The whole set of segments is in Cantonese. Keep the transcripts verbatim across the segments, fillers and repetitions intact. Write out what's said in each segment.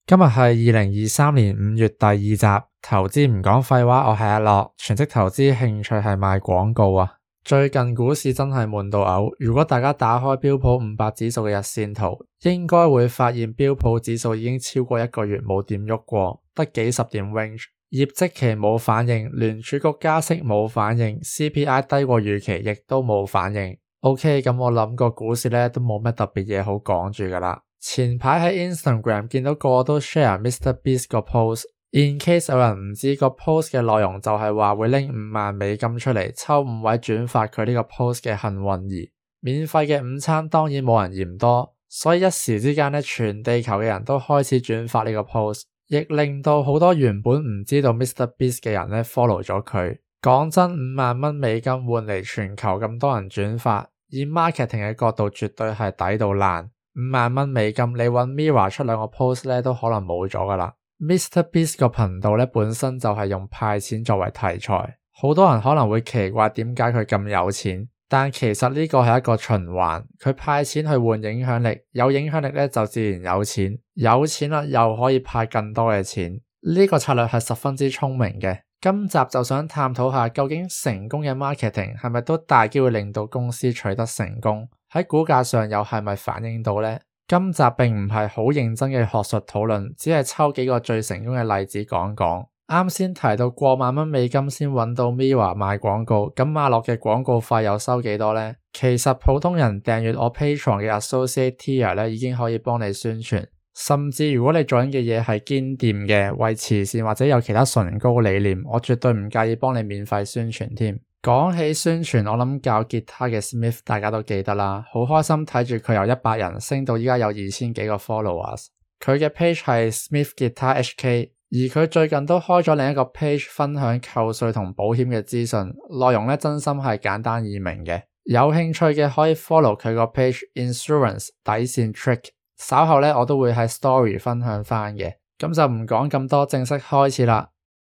今日係二零二三年五月第二集，投資唔講廢話，我係阿樂，全職投資興趣係賣廣告啊。最近股市真係悶到嘔，如果大家打開標普五百指數嘅日線圖，應該會發現標普指數已經超過一個月冇點喐過，得幾十點 range， 業績期冇反應，聯儲局加息冇反應， C P I 低過預期亦都冇反應。OK， 咁我諗個股市咧都冇乜特別嘢好講住噶啦。前排喺 Instagram 見到個個都 share MrBeast 個 post，in case 有人唔知個 post 嘅內容就係話會拎五萬美金出嚟抽五位轉發佢呢個 post 嘅幸運兒，免費嘅午餐當然冇人嫌多，所以一時之間呢，全地球嘅人都開始轉發呢個 post， 亦令到好多原本唔知道 MrBeast 嘅人呢 follow 咗佢。講真，五萬蚊美金換嚟全球咁多人轉發，以 marketing 嘅角度絕對係抵到爛。五萬蚊美金，你搵 Mirror 出兩個 post 咧，都可能冇咗噶啦。MrBeast 個頻道咧本身就係用派錢作為題材，好多人可能會奇怪點解佢咁有錢，但其實呢個係一個循環，佢派錢去換影響力，有影響力咧就自然有錢，有錢啦又可以派更多嘅錢，呢個策略係十分之聰明嘅。今集就想探討下，究竟成功嘅 marketing 係咪都大機會令到公司取得成功？喺股價上又係咪反映到呢？今集並唔係好認真嘅學術討論，只係抽幾個最成功嘅例子講講。啱先提到過萬蚊美金先揾到 Mirror 賣廣告，咁馬樂嘅廣告費又收幾多呢？其實普通人訂閱我 Patreon 嘅 Associate Tier 咧，已經可以幫你宣傳。甚至如果你做緊嘅嘢係堅掂嘅，為慈善或者有其他崇高理念，我絕對唔介意幫你免費宣傳添。講起宣傳，我諗教吉他嘅 Smith 大家都記得啦，好開心睇住佢由一百人升到依家有二千幾個 followers。佢嘅 page 係 Smith Guitar H K， 而佢最近都開咗另一個 page 分享扣稅同保險嘅資訊，內容咧真心係簡單易明嘅。有興趣嘅可以 follow 佢個 page Insurance 底線 Trick。稍後咧我都會喺 story 分享翻嘅，咁就唔講咁多，正式開始啦。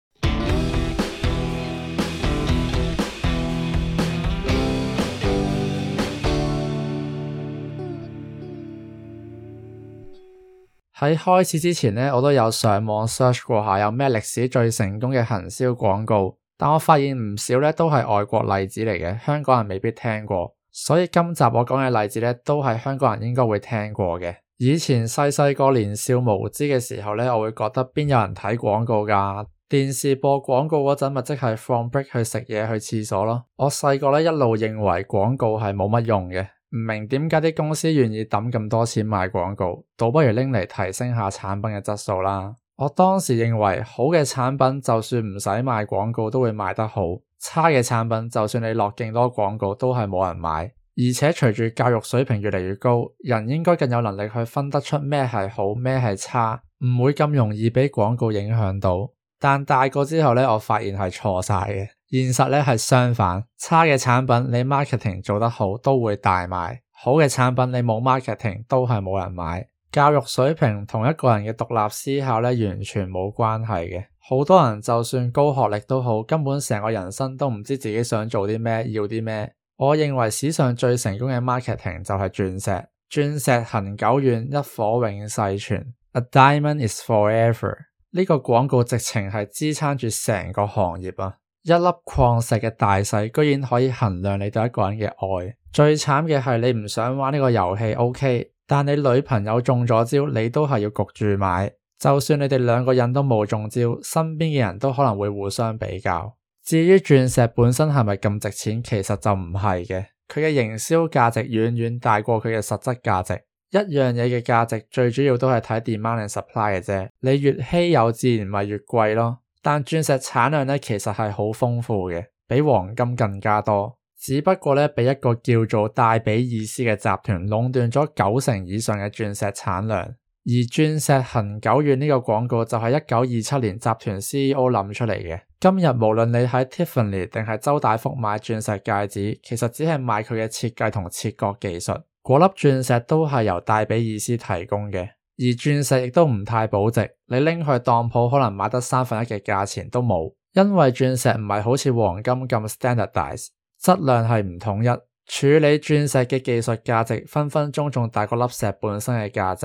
喺開始之前呢，我都有上網 search 過下有咩歷史最成功嘅行銷廣告，但我發現唔少咧都係外國例子嚟嘅，香港人未必聽過，所以今集我講嘅例子咧都係香港人應該會聽過嘅。以前細細個年少無知嘅時候咧，我會覺得邊有人睇廣告㗎？電視播廣告嗰陣咪即係放 break 去食嘢去廁所咯。我細個咧一路認為廣告係冇乜用嘅，唔明點解啲公司願意抌咁多錢買廣告，倒不如拎嚟提升下產品嘅質素啦。我當時認為好嘅產品就算唔使賣廣告都會賣得好，差嘅產品就算你落勁多廣告都係冇人買。而且隨住教育水平越嚟越高，人應該更有能力去分得出咩係好，咩係差，唔會咁容易俾廣告影響到。但大個之後咧，我發現係錯晒嘅。現實咧係相反，差嘅產品你 marketing 做得好都會大賣，好嘅產品你冇 marketing 都係冇人買。教育水平同一個人嘅獨立思考咧完全冇關係嘅。好多人就算高學歷都好，根本成個人生都唔知自己想做啲咩，要啲咩。我認為史上最成功嘅 marketing 就係鑽石，鑽石恆久遠，一顆永世存。A diamond is forever。呢個廣告直情係支撐住成個行業啊！一粒礦石嘅大細居然可以衡量你對一個人嘅愛。最慘嘅係你唔想玩呢個遊戲 OK， 但你女朋友中咗招，你都係要焗住買。就算你哋兩個人都冇中招，身邊嘅人都可能會互相比較。至於鑽石本身係咪咁值錢，其實就唔係嘅，佢嘅營銷價值遠遠大過佢嘅實質價值。一樣嘢嘅價值最主要都係睇 demand and supply 嘅啫，你越稀有自然咪越貴咯。但鑽石產量咧其實係好豐富嘅，比黃金更加多，只不過咧俾一個叫做戴比爾斯嘅集團壟斷咗九成以上嘅鑽石產量。而鑽石恆久遠呢個廣告就係一九二七年集團 C E O 諗出嚟嘅。今日無論你喺 Tiffany 定係周大福買鑽石戒指，其實只係買佢嘅設計同切割技術，嗰粒鑽石都係由戴比爾斯提供嘅。而鑽石亦都唔太保值，你拎去當鋪可能買得三分一嘅價錢都冇，因為鑽石唔係好似黃金咁 standardize， 質量係唔統一，處理鑽石嘅技術價值分分鐘仲大過粒石本身嘅價值。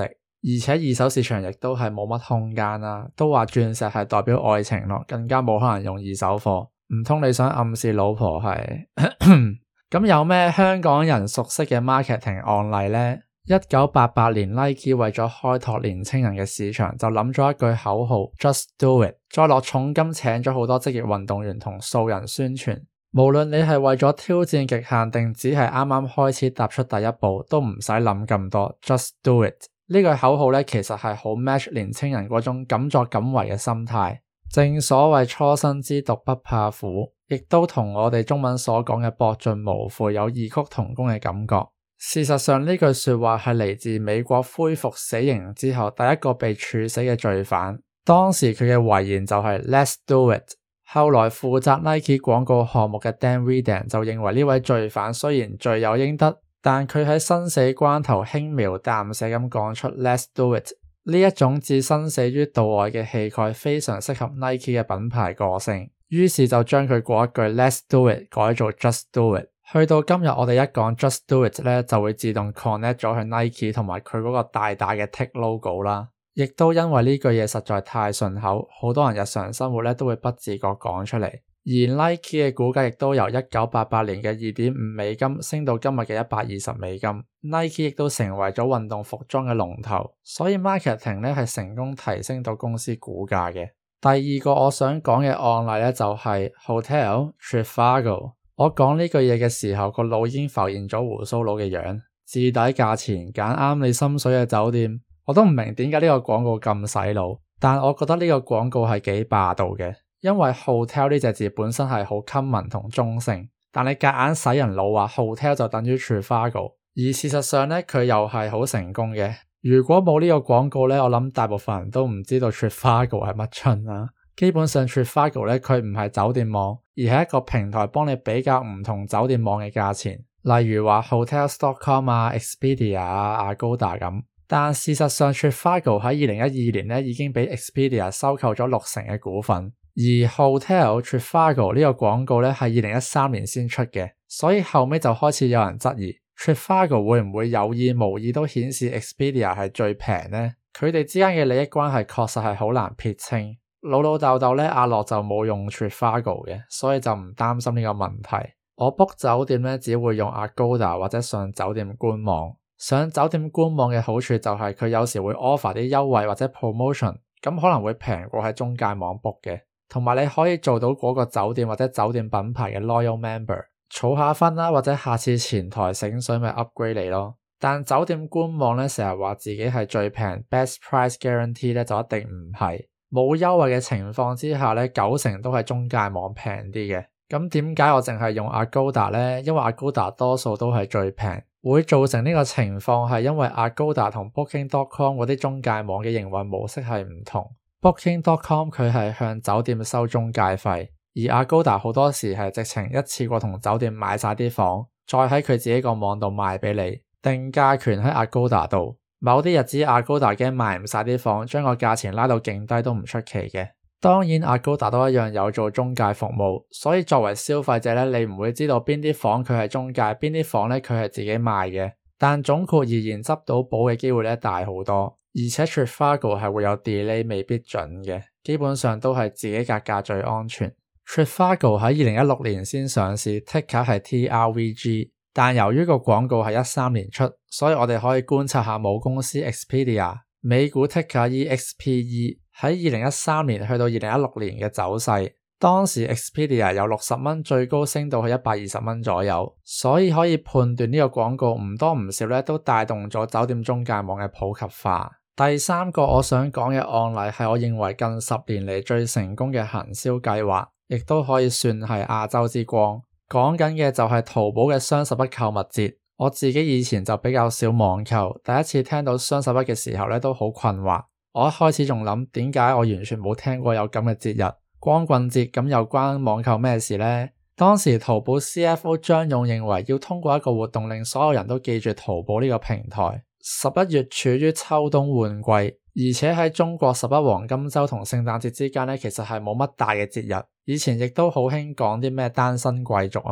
而且二手市場亦都係冇乜空間啦，都話鑽石係代表愛情咯，更加冇可能用二手貨，唔通你想暗示老婆係？咁有咩香港人熟悉嘅 marketing 案例呢？一九八八年 Nike 為咗開拓年輕人嘅市場，就諗咗一句口號 Just Do It， 再落重金請咗好多職業運動員同素人宣傳。無論你係為咗挑戰極限定只係啱啱開始踏出第一步，都唔使諗咁多 Just Do It。 呢句口號咧，其實係好 match 年輕人嗰種敢作敢為嘅心態。正所謂初生之犢不怕虎，亦都同我哋中文所講嘅博盡無悔有異曲同工嘅感覺。事實上呢句說話係嚟自美國恢復死刑之後第一個被處死嘅罪犯，當時佢嘅遺言就係 Let's do it。 後來負責 Nike 廣告項目嘅 Dan Redan 就認為呢位罪犯雖然罪有應得，但佢喺生死關頭輕描淡寫咁講出 Let's do it， 呢一種置生死於度外嘅氣概非常適合 Nike 嘅品牌個性，於是就將佢嗰一句 Let's do it 改做 Just do it。去到今日我哋一講 Just Do It 咧，就會自動 connect 咗去 Nike 同埋佢嗰個大大嘅 Tick logo 啦。亦都因為呢句嘢實在太順口，好多人日常生活咧都會不自覺講出嚟。而 Nike 嘅股價亦都由一九八八年嘅二點五美金升到今日嘅一百二十美金。Nike 亦都成為咗運動服裝嘅龍頭，所以 marketing 咧係成功提升到公司股價嘅。第二個我想講嘅案例咧就係 Hotel Trivago。我講呢句嘢嘅時候，個腦已經浮現咗鬍鬚佬嘅樣，至底價錢揀啱你心水嘅酒店。我都唔明點解呢個廣告咁洗腦，但我覺得呢個廣告係幾霸道嘅，因為 hotel 呢隻字本身係好 common 同中性，但你夾硬洗人腦話 hotel 就等於 Trivago， 而事實上呢，佢又係好成功嘅。如果冇呢個廣告呢，我諗大部分人都唔知道 Trivago 係乜春啦。基本上 Trivago 咧，佢唔係酒店網，而係一個平台幫你比較唔同酒店網嘅價錢，例如話 hotels dot com 啊、Expedia 啊、Agoda 咁。但事實上 Trivago 喺二零一二年咧已經俾 Expedia 收購咗六成嘅股份，而 Hotel Trivago 呢個廣告咧係二零一三年先出嘅，所以後尾就開始有人質疑 Trivago 會唔會有意無意都顯示 Expedia 係最平呢？佢哋之間嘅利益關係確實係好難撇清。老老豆豆咧，阿樂就冇用 Trivago 嘅，所以就唔擔心呢個問題。我 book 酒店咧，只會用 Agoda 或者上酒店官網。上酒店官網嘅好處就係佢有時會 offer 啲優惠或者 promotion， 咁可能會平過喺中介網 book 嘅。同埋你可以做到嗰個酒店或者酒店品牌嘅 loyal member， 儲下分啦，或者下次前台醒水咪 upgrade 你咯。但酒店官網咧成日話自己係最平 best price guarantee 咧，就一定唔係。冇優惠嘅情況之下咧，九成都係中介網平啲嘅。咁點解我淨係用 Agoda 呢？因為 Agoda 多數都係最平。會造成呢個情況係因為 Agoda 同 Booking dot com 嗰啲中介網嘅營運模式係唔同。Booking dot com 佢係向酒店收中介費，而 Agoda 好多時係直情一次過同酒店買晒啲房，再喺佢自己個網度賣俾你，定價權喺 Agoda 度。某啲日子 Agoda 驚賣唔晒啲房，將個價錢拉到勁低都唔出奇嘅。當然 Agoda 都一樣有做中介服務，所以作為消費者咧，你唔會知道邊啲房佢係中介，邊啲房咧佢係自己賣嘅。但總括而言，執到寶嘅機會咧大好多，而且 Trivago 係會有 delay 未必準嘅，基本上都係自己格價最安全。Trivago 喺二零一六年先上市 ，ticker 係 T R V G。但由於個廣告係一三年出，所以我哋可以觀察下母公司 Expedia 美股 ticker E X P E 喺二零一三年去到二零一六年嘅走勢。當時 Expedia 由六十蚊最高升到去一百二十蚊左右，所以可以判斷呢個廣告唔多唔少咧都帶動咗酒店中介網嘅普及化。第三個我想講嘅案例係我認為近十年嚟最成功嘅行銷計劃，亦都可以算係亞洲之光。講緊嘅就係淘寶嘅雙十一購物節。我自己以前就比較少網購，第一次聽到雙十一嘅時候咧都好困惑。我一開始仲諗點解我完全冇聽過有咁嘅節日，光棍節咁又關網購咩事呢？當時淘寶 C F O 張勇認為要通過一個活動令所有人都記住淘寶呢個平台。十一月處於秋冬換季，而且喺中國十一黃金週同聖誕節之間咧，其實係冇乜大嘅節日。以前亦都好興講啲咩單身貴族啊嘛，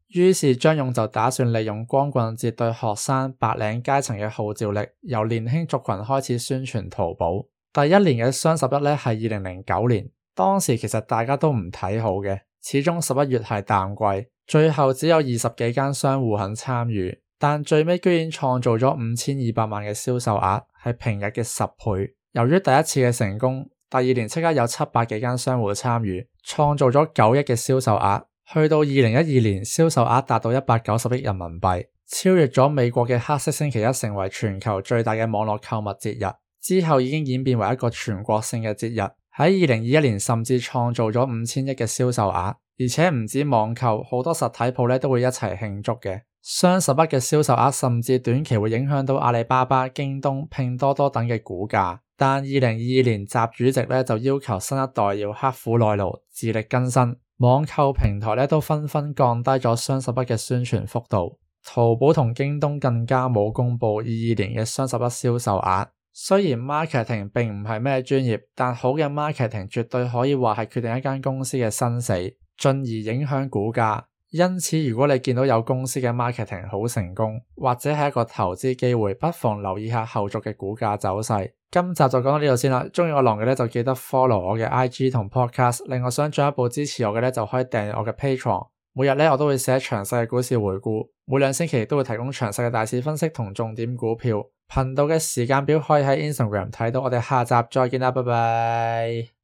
於是張勇就打算利用光棍節對學生白領階層嘅號召力，由年輕族群開始宣傳淘寶。第一年嘅雙十一咧係二零零九年，當時其實大家都唔睇好嘅，始終十一月係淡季，最後只有二十幾間商戶肯參與，但最尾居然創造咗五千二百萬嘅銷售額，係平日嘅十倍。由於第一次嘅成功，第二年即刻有七百幾間商戶參與，創造咗九億嘅銷售額。去到二零一二年，銷售額達到一百九十億人民幣，超越咗美國嘅黑色星期一，成為全球最大嘅網絡購物節日。之後已經演變為一個全國性嘅節日，喺二零二一年甚至創造咗五千億嘅銷售額，而且唔止網購，好多實體鋪咧都會一齊慶祝嘅。雙十一嘅銷售額甚至短期會影響到阿里巴巴、京東、拼多多等嘅股價。但二零二二年習主席咧就要求新一代要刻苦耐勞，自力更生。網購平台咧都紛紛降低咗雙十一嘅宣傳幅度，淘寶同京東更加冇公布二二年嘅雙十一銷售額。雖然 marketing 並唔係咩專業，但好嘅 marketing 絕對可以話係決定一間公司嘅生死，進而影響股價。因此如果你見到有公司嘅 marketing 好成功，或者係一個投資機會，不妨留意下後續嘅股價走勢。今集就講到呢度先啦，鍾意我浪嘅咧就記得 follow 我嘅 I G 同 podcast， 另外想進一步支持我嘅咧就可以訂閱我嘅 Patreon， 每日咧我都會寫詳細嘅股市回顧，每兩星期都會提供詳細嘅大市分析同重點股票。頻道嘅時間表可以喺 Instagram 睇到，我哋下集再見啦，拜拜。